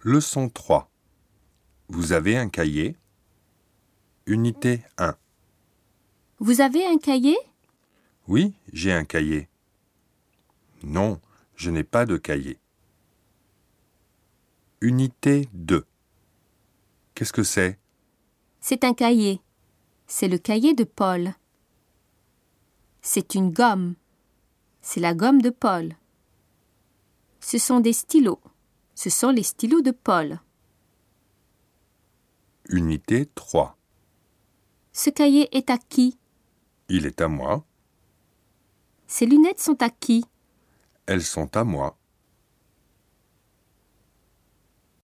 Leçon 3. Vous avez un cahier? Unité 1. Vous avez un cahier? Oui, j'ai un cahier. Non, je n'ai pas de cahier. Unité 2. Qu'est-ce que c'est? C'est un cahier. C'est le cahier de Paul. C'est une gomme. C'est la gomme de Paul. Ce sont des stylos. Ce sont les stylos de Paul. Unité 3. Ce cahier est à qui? Il est à moi. Ces lunettes sont à qui? Elles sont à moi.